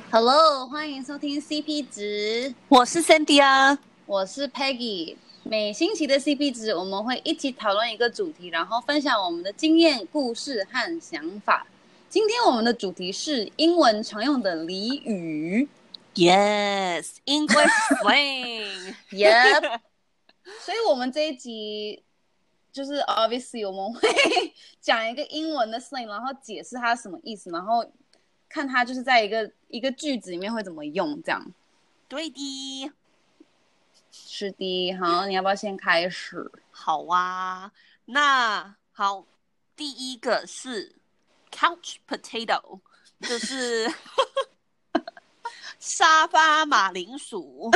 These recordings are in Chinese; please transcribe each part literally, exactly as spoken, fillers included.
Hello，欢迎收听 C P 值， 我是 Sandy 啊， 我是 Peggy。每星期的 C P 值，我们会一起讨论一个主题，然后分享我们的经验、故事和想法。今天我们的主题是英文常用的俚语。 Yes, English slang. Yep 。所以我们这一集就是 obviously 我们会讲一个英文的 slang， 然后解释它什么意思，然后看它就是在一个一个句子里面会怎么用，这样。 对的， 是的。好，你要不要先开始？ 好啊。那好，第一个是 couch potato， 就是沙发马铃薯。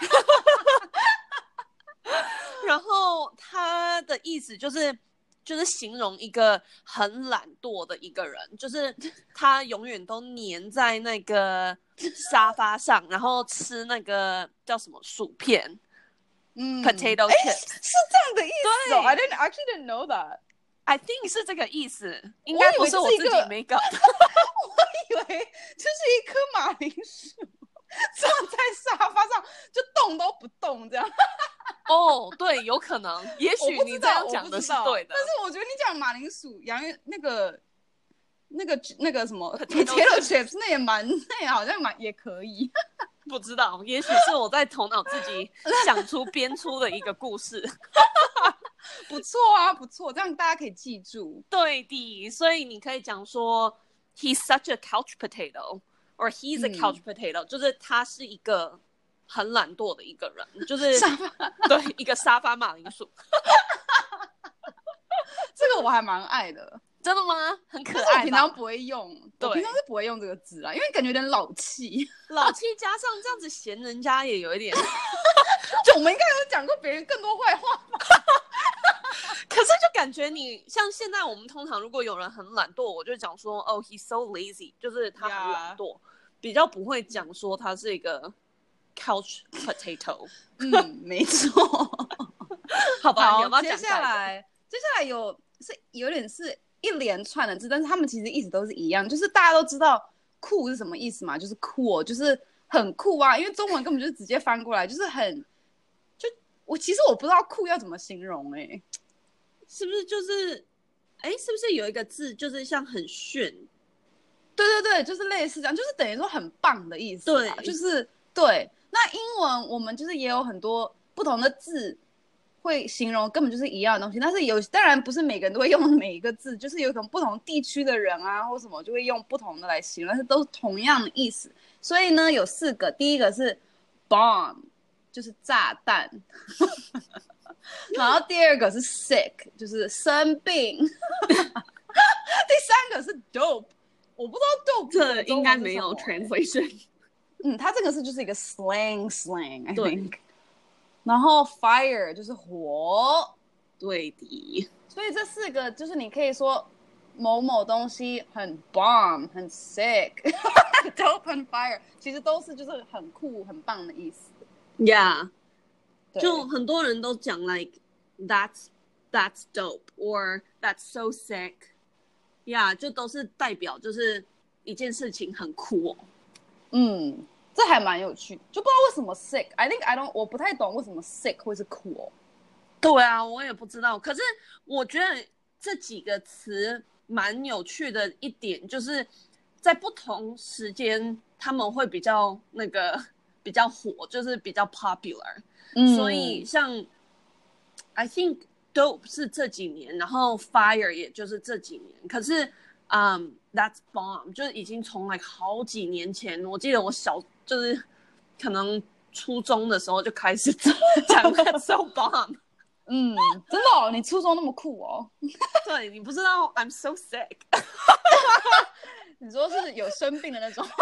然后它的意思就是就是形容一个很懒惰的一个人，就是他永远都黏在那个沙发上，然后吃那个叫什么薯片， 嗯 potato 诶 chips， 是这样的意思哦。 对 I didn't actually didn't know that。 I think 是这个意思，应该不是我自己没搞。 我以为就是一颗马铃薯坐在沙发上就动都不动这样。 哦，对，有可能，也许你这样讲的是对的。 但是我觉得你讲马铃薯、洋芋那个、那个、那个什么 potato potato chips， 那也蛮，那也好像蛮也可以。 不知道，也许是我在头脑自己想出编出的一个故事。 不错啊，不错，这样大家可以记住。 对的，所以你可以讲说 he's such a couch potato or he's a couch potato，、嗯、就是他是一个很懒惰的一个人，就是沙发对一个沙发马铃薯。 这个我还蛮爱的。 真的吗？很可爱吧。 但是我平常不会用，我平常是不会用这个字啦，因为感觉有点老气。 老气加上这样子嫌人家也有一点。 就我们应该有讲过别人更多坏话吧。 可是就感觉你像现在我们通常如果有人很懒惰，我就讲说哦 he's so lazy， 就是他很懒惰， yeah. 比较不会讲说他是一个 couch potato。 嗯，没错。 好吧， 好， 有没有讲接下来接下来有是有点是一连串的字，但是他们其实意思都是一样，就是大家都知道酷是什么意思嘛，就是酷，就是很酷啊，因为中文根本就是直接翻过来，就是很就我其实我不知道酷要怎么形容。哎、欸， 是不是就是哎，是不是有一个字就是像很炫？ 对对对，就是类似这样，就是等于说很棒的意思。对，就是对。那英文我们就是也有很多不同的字会形容根本就是一样的东西，但是有当然不是每个人都会用每一个字，就是有种不同地区的人啊或什么就会用不同的来形容，但是都是同样的意思。所以呢有四个，第一个是 bomb， 就是炸弹。然后第二个是 sick， 就是生病。第三个是 dope， 我不知道 dope 这应该没有 translation。 嗯，它这个是就是一个 slang slang I think。然后 fire 就是火。 对的。 所以这四个就是你可以说某某东西很 bomb 很 sick dope 很 fire， 其实都是就是很酷很棒的意思。 Yeah， 就很多人都讲 like that's that's dope or that's so sick。 Yeah， 就都是代表就是一件事情很酷哦。 嗯，这还蛮有趣的，就不知道为什么 sick I think I don't 我不太懂为什么 sick 会是酷哦。 对啊，我也不知道。可是我觉得这几个词蛮有趣的一点，就是在不同时间他们会比较那个比较火，就是比较 popular。嗯，所以像 I think dope 是这几年，然后 fire 也就是这几年。可是嗯、um, that's bomb 就是已经从 like 好几年前，我记得我小就是可能初中的时候就开始讲 that's so bomb。 嗯，真的哦，你初中那么酷哦。 对，你不知道 I'm so sick。 你说是有生病的那种。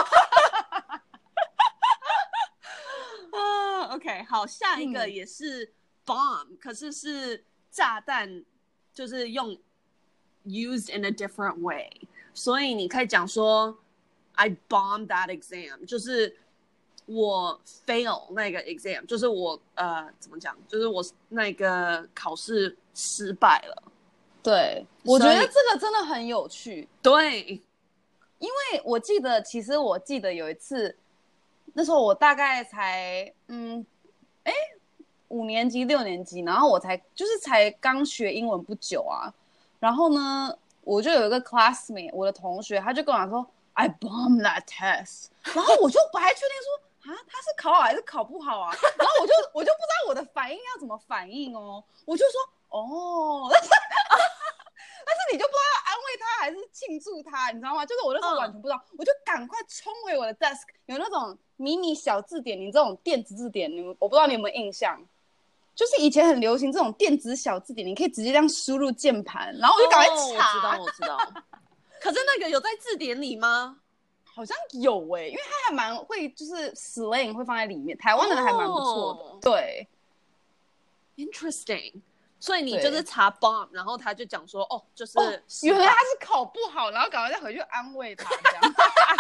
uh, OK， 好，下一个也是 bomb、嗯、可是是炸弹，就是用 used in a different way， 所以你可以讲说 I bombed that exam， 就是我 fail 那个 exam， 就是我呃怎么讲，就是我那个考试失败了。 对，我觉得这个真的很有趣。 对， 因为我记得，其实我记得有一次，那时候我大概才嗯，哎，五年级六年级，然后我才就是才刚学英文不久啊，然后呢，我就有一个 classmate， 我的同学，他就跟我讲说 I bombed that test， 然后我就不太确定说啊，他是考好还是考不好啊，然后我就我就不知道我的反应要怎么反应哦，我就说哦，但是但是你就不知道要安慰他还是庆祝他，你知道吗？就是我那时候完全不知道，嗯、我就赶快冲回我的 desk， 有那种迷你小字典，你这种电子字典，你们我不知道你有没有印象？就是以前很流行这种电子小字典，你可以直接这样输入键盘，然后我就赶快查。 哦、我知道，我知道。可是那个有在字典里吗？ 好像有诶、欸，因为它还蛮会，就是 slang 会放在里面，台湾的还蛮不错的。哦、对 ，interesting。所以你就是查 bomb， 然后他就讲说，哦，就是、哦、 原来他是考不好，然后赶快再回去安慰他这样。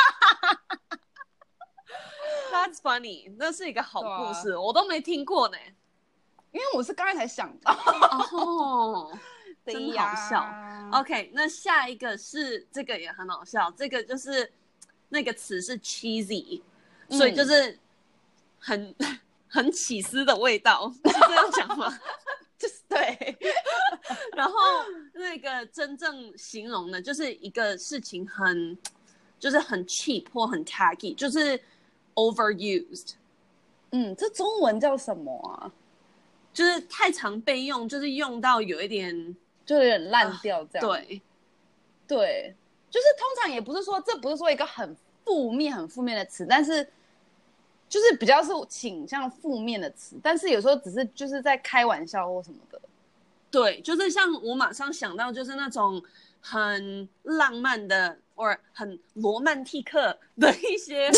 That's funny， 那是一个好故事，啊、我都没听过呢。 因为我是刚才才想到。 哦，真好笑。OK， 那下一个是这个也很好笑，这个就是那个词是 cheesy，、嗯、所以就是很很起司的味道，是这样讲吗？ 就是对。 然后那个真正形容的就是一个事情很就是很 cheap 或很 tacky， 就是 overused。 嗯，这中文叫什么啊？ 就是太常被用，就是用到有一点就有点烂掉这样、 呃、对对，就是通常也不是说这不是说一个很负面很负面的词，但是就是比较是倾向负面的词，但是有时候只是就是在开玩笑或什么的。 对，就是像我马上想到就是那种很浪漫的或很罗曼蒂克的一些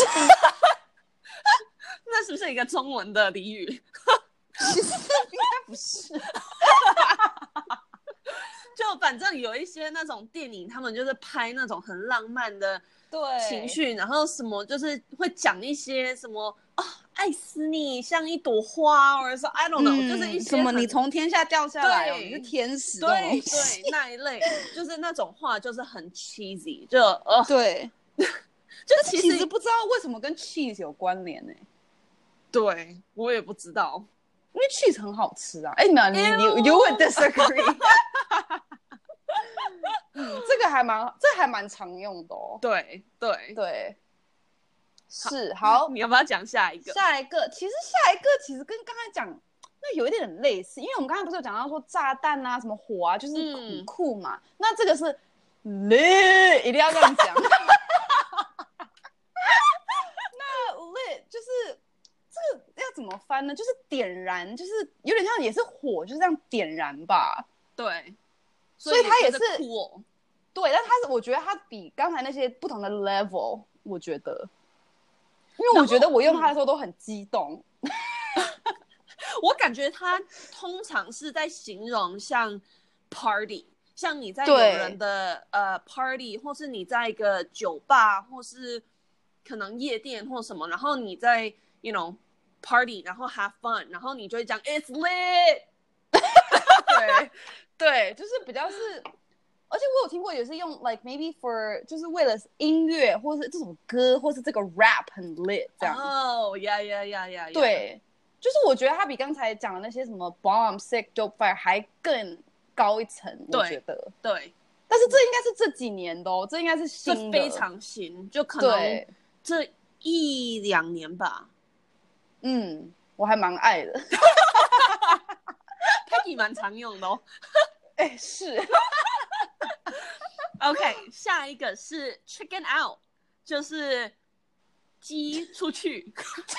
那是不是一个中文的俚语？ 其实应该不是。 就反正有一些那种电影，他们就是拍那种很浪漫的情绪，然后什么就是会讲一些什么哦，爱死你像一朵花，或者说 I don't know、嗯、就是一些什么你从天下掉下来、哦、你是天使， 对对，那一类就是那种话就是很 cheesy， 就呃对， 就其实, 其实不知道为什么跟 cheese 有关联呢、欸？ 对，我也不知道。 因为 cheese 很好吃啊！哎，没有你你 you would disagree 。嗯，这个还蛮这还蛮常用的哦。 对对对，是好。 你要不要讲下一个？ 下一个，其实下一个其实跟刚才讲那有一点类似，因为我们刚才不是有讲到说炸弹啊、什么火啊，就是很酷嘛。嗯、那这个是 lit， 一定要这样讲。那 lit 就是。这个要怎么翻呢？就是点燃，就是有点像也是火，就是这样点燃吧。 对， 所以它也是酷哦。 对，但它是我觉得它比刚才那些不同的 level， 我觉得，因为我觉得我用它的时候都很激动。嗯、 我感觉它通常是在形容像 party， 像你在有人的呃 party， 或是你在一个酒吧，或是可能夜店或什么，然后你在 you know party， 然后 have fun， 然后你就会讲 it's lit。 对对，就是比较是，而且我有听过也是用 like maybe for 就是为了音乐或是这首歌或是这个 rap 很 lit 这样。 哦呀呀呀呀！ 对，就是我觉得它比刚才讲的那些什么 bomb sick dope fire 还更高一层，我觉得。 对， 但是这应该是这几年的哦，这应该是新的， 非常新，就可能这一两年吧。 嗯，我还蛮爱的。 Peggy 蛮常用的哦。 哎、欸，是。 OK， 下一个是 chicken out， 就是鸡出去。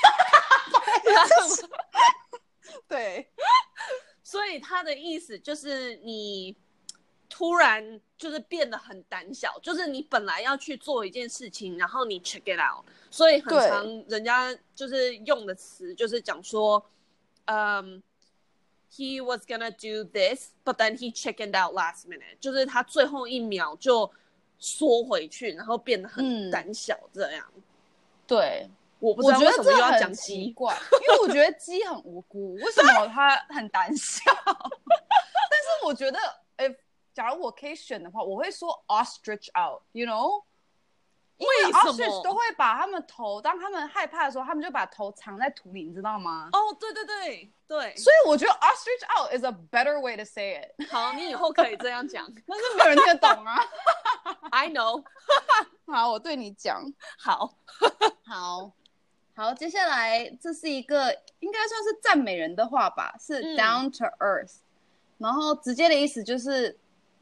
对， 所以它的意思就是你突然就是变得很胆小，就是你本来要去做一件事情，然后你 check it out， 所以很常人家就是用的词就是讲说，嗯、um,，he was gonna do this，but then he chickened out last minute， 就是他最后一秒就缩回去，然后变得很胆小这样。 嗯、对。 我不知道为什么又要讲鸡， 因为我觉得鸡很无辜，为什么它很胆小？但是我觉得，哎，假如我可以选的话，我会说 ostrich out，you know， 因为 ostrich 都会把他们头，当他们害怕的时候，他们就把头藏在土里，你知道吗？ 哦，对对对对， 所以我觉得 ostrich out is a better way to say it。 好，你以后可以这样讲， 但是没有人听得懂啊。 I know 好，我对你讲。 好， 好，好，接下来这是一个应该算是赞美人的话吧，是 down to earth，、嗯、然后直接的意思就是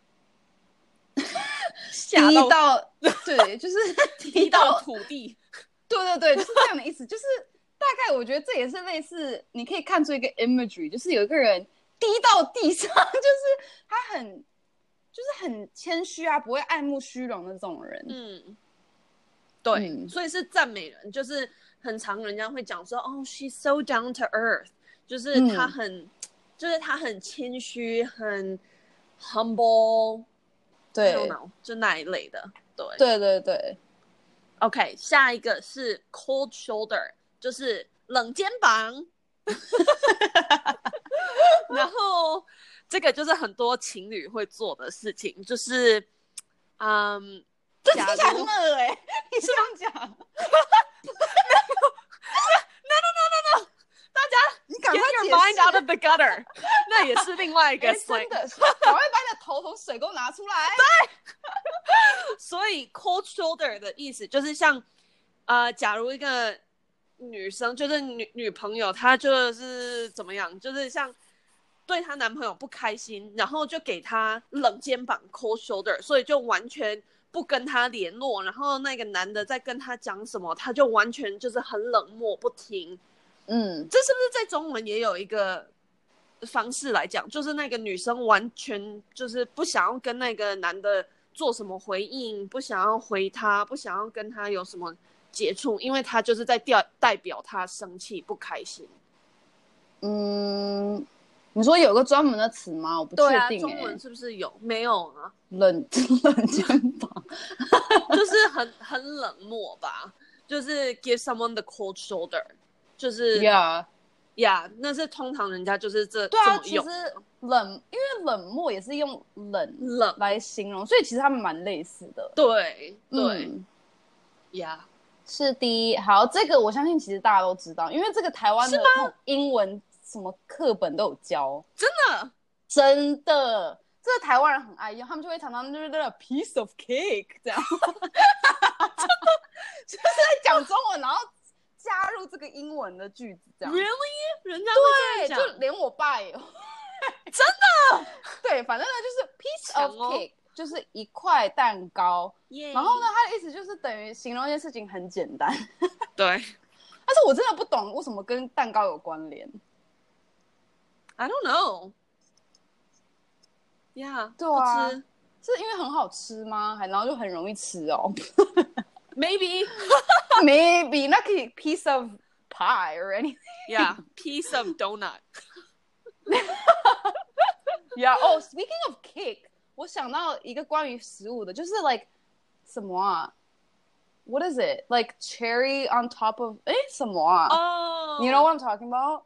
低到对，就是低到土地。 对对对，就是这样的意思。就是大概我觉得这也是类似，你可以看出一个 imagery， 就是有一个人低到地上，就是他很就是很谦虚啊，不会爱慕虚荣的这种人。 嗯，对，嗯、所以是赞美人，就是很常人家会讲说，哦 ，she's so down to earth， 就是他很，嗯、就是他很谦虚，很 humble。 对， 就那一类的，对对对对。 OK， 下一个是 cold shoulder， 就是冷肩膀。然后这个就是很多情侣会做的事情，就是嗯， 这听起来很恶哎，你这样讲。 No no no no no， 大家你赶快 get your mind out of the gutter， 那也是另外一个 slang。真的，赶快把你的头从水沟拿出来。 对。所以 cold shoulder 的意思就是像，呃，假如一个女生就是女女朋友，她就是怎么样，就是像对她男朋友不开心，然后就给她冷肩膀 cold shoulder， 所以就完全不跟他联络，然后那个男的在跟他讲什么，他就完全就是很冷漠不听。 嗯， 这是不是在中文也有一个方式来讲，就是那个女生完全就是不想要跟那个男的做什么回应，不想要回他，不想要跟他有什么接触，因为他就是在代表他生气不开心。 嗯，你说有个专门的词吗？我不确定、欸。 对啊，中文是不是有？没有啊。 冷冷肩膀， 就是很很冷漠吧，就是 give someone the cold shoulder， 就是呀呀， yeah, 那是通常人家就是这对啊， 这么用。 其实冷，因为冷漠也是用冷冷来形容，所以其实他们蛮类似的。 对对呀、 嗯 yeah. 是第一。好，这个我相信其实大家都知道，因为这个台湾的那种英文什么课本都有教。 真的真的，这个台湾人很爱用，他们就会常常就是那个 piece of cake 这样，就是在讲中文，然后加入这个英文的句子这样。 Really？ 人家会这样讲？ 对，就连我爸也有。 真的？ 对，反正呢就是 piece of cake，、哦、就是一块蛋糕。Yeah. 然后呢，它的意思就是等于形容一件事情很简单。 对。 但是我真的不懂为什么跟蛋糕有关联。 I don't know. Yeah， 对啊， 不吃是因为很好吃吗？还然后就很容易吃哦。 Maybe， maybe 那可以 piece of pie or anything. Yeah, piece of donut. Yeah. Oh, speaking of cake， 我想到一个关于食物的，就是 like 什么啊 ？What is it? Like cherry on top of 哎什么啊？ 哦、 oh. You know what I'm talking about?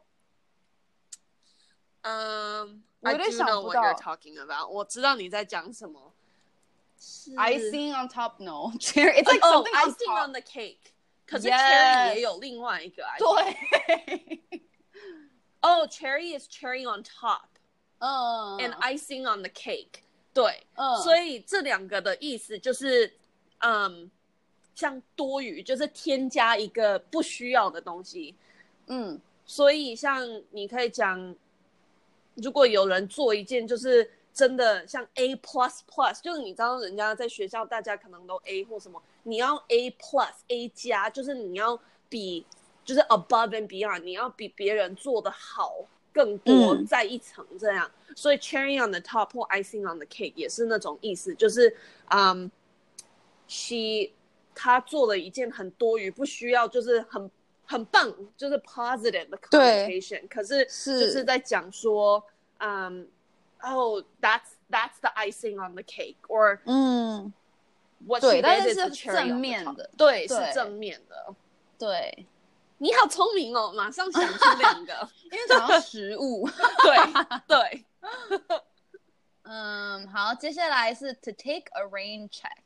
Um, I do know what you're talking about. 我知道你在讲什么。 Icing on top, no. Cherry, it's like oh, something on icing top. on the cake. 可是 cherry 也有另外一个。 对。 Oh, cherry is cherry on top. 嗯。 And icing on the cake. 对。 嗯。 所以这两个的意思就是，嗯，像多余，就是添加一个不需要的东西。 嗯。 所以像你可以讲。如果有人做一件就是真的像 A plus plus， 就是你知道人家在学校大家可能都 A 或什么，你要 A plus A 加，就是你要比就是 above and beyond， 你要比别人做的好更多、嗯、再一层这样。所以 cherry on the top 或 icing on the cake 也是那种意思，就是嗯、um, she 她做了一件很多余不需要，就是很很棒，就是 positive 的 connotation， 可是就是在讲说，嗯 ，Oh, that's that's the icing on the cake, or 嗯 ，what she did is 是正面的， 对，是正面的， 对， 你好聪明哦，马上想出两个， 因为讲到食物， 对对， 嗯，好，接下来是 to take a rain check，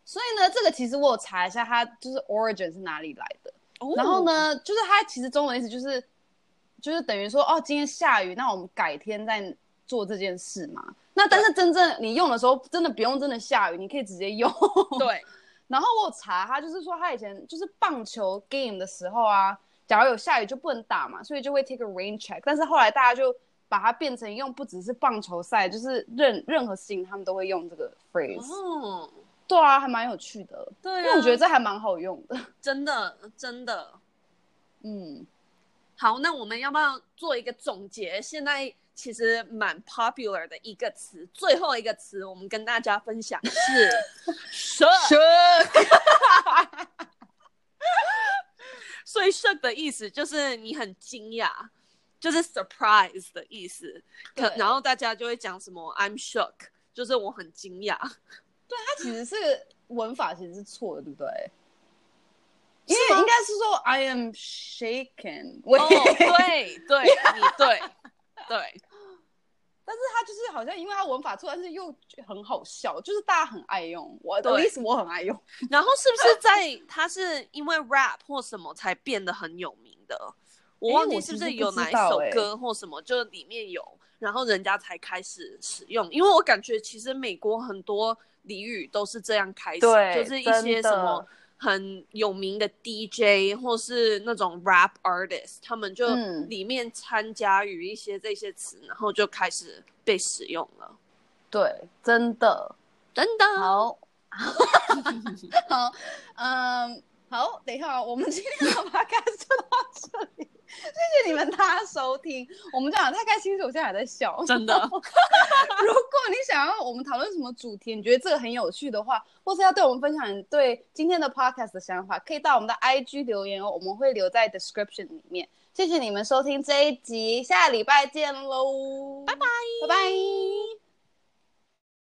所以呢，这个其实我有查一下，它就是 origin 是哪里来的。 哦、 然后呢，就是它其实中文的意思就是，就是等于说，哦，今天下雨，那我们改天再做这件事嘛。那但是真正你用的时候，真的不用真的下雨，你可以直接用。 对。 然后我有查，他就是说他以前就是棒球 game 的时候啊，假如有下雨就不能打嘛，所以就会 take a rain check。但是后来大家就把它变成用，不只是棒球赛，就是任任何事情他们都会用这个 phrase。哦，对啊，还蛮有趣的。对、啊，因为我觉得这还蛮好用的。 真的，真的。 嗯， 好，那我们要不要做一个总结？现在其实蛮 popular 的一个词，最后一个词我们跟大家分享是 shook。所以 shook 的意思就是你很惊讶，就是 surprise 的意思。然后大家就会讲什么 I'm shook， 就是我很惊讶。 对，它其实是文法其实是错的，对不对？因为应该是说 I am shaken。 哦，对对，你对对。 但是它就是好像因为它文法错，但是又很好笑，就是大家很爱用，我的意思我很爱用。 然后是不是在它是因为 rap 或什么才变得很有名的？我忘记是不是有哪一首歌或什么，欸、就里面有，然后人家才开始使用。因为我感觉其实美国很多俚语都是这样开始，就是一些什么很有名的 D J 或是那种 rap artist， 他们就里面掺加于一些这些词，然后就开始被使用了。 对，真的， 真的。 好，好，嗯，好，等一下，我们今天的 podcast 就到这里。谢谢你们大家收听，我们讲的太开心，我现在还在笑， 真的。如果你想要我们讨论什么主题，你觉得这个很有趣的话，或是要对我们分享你对今天的 podcast 的想法，可以到我们的 I G 留言哦，我们会留在 description 里面。谢谢你们收听这一集，下礼拜见喽， 拜拜。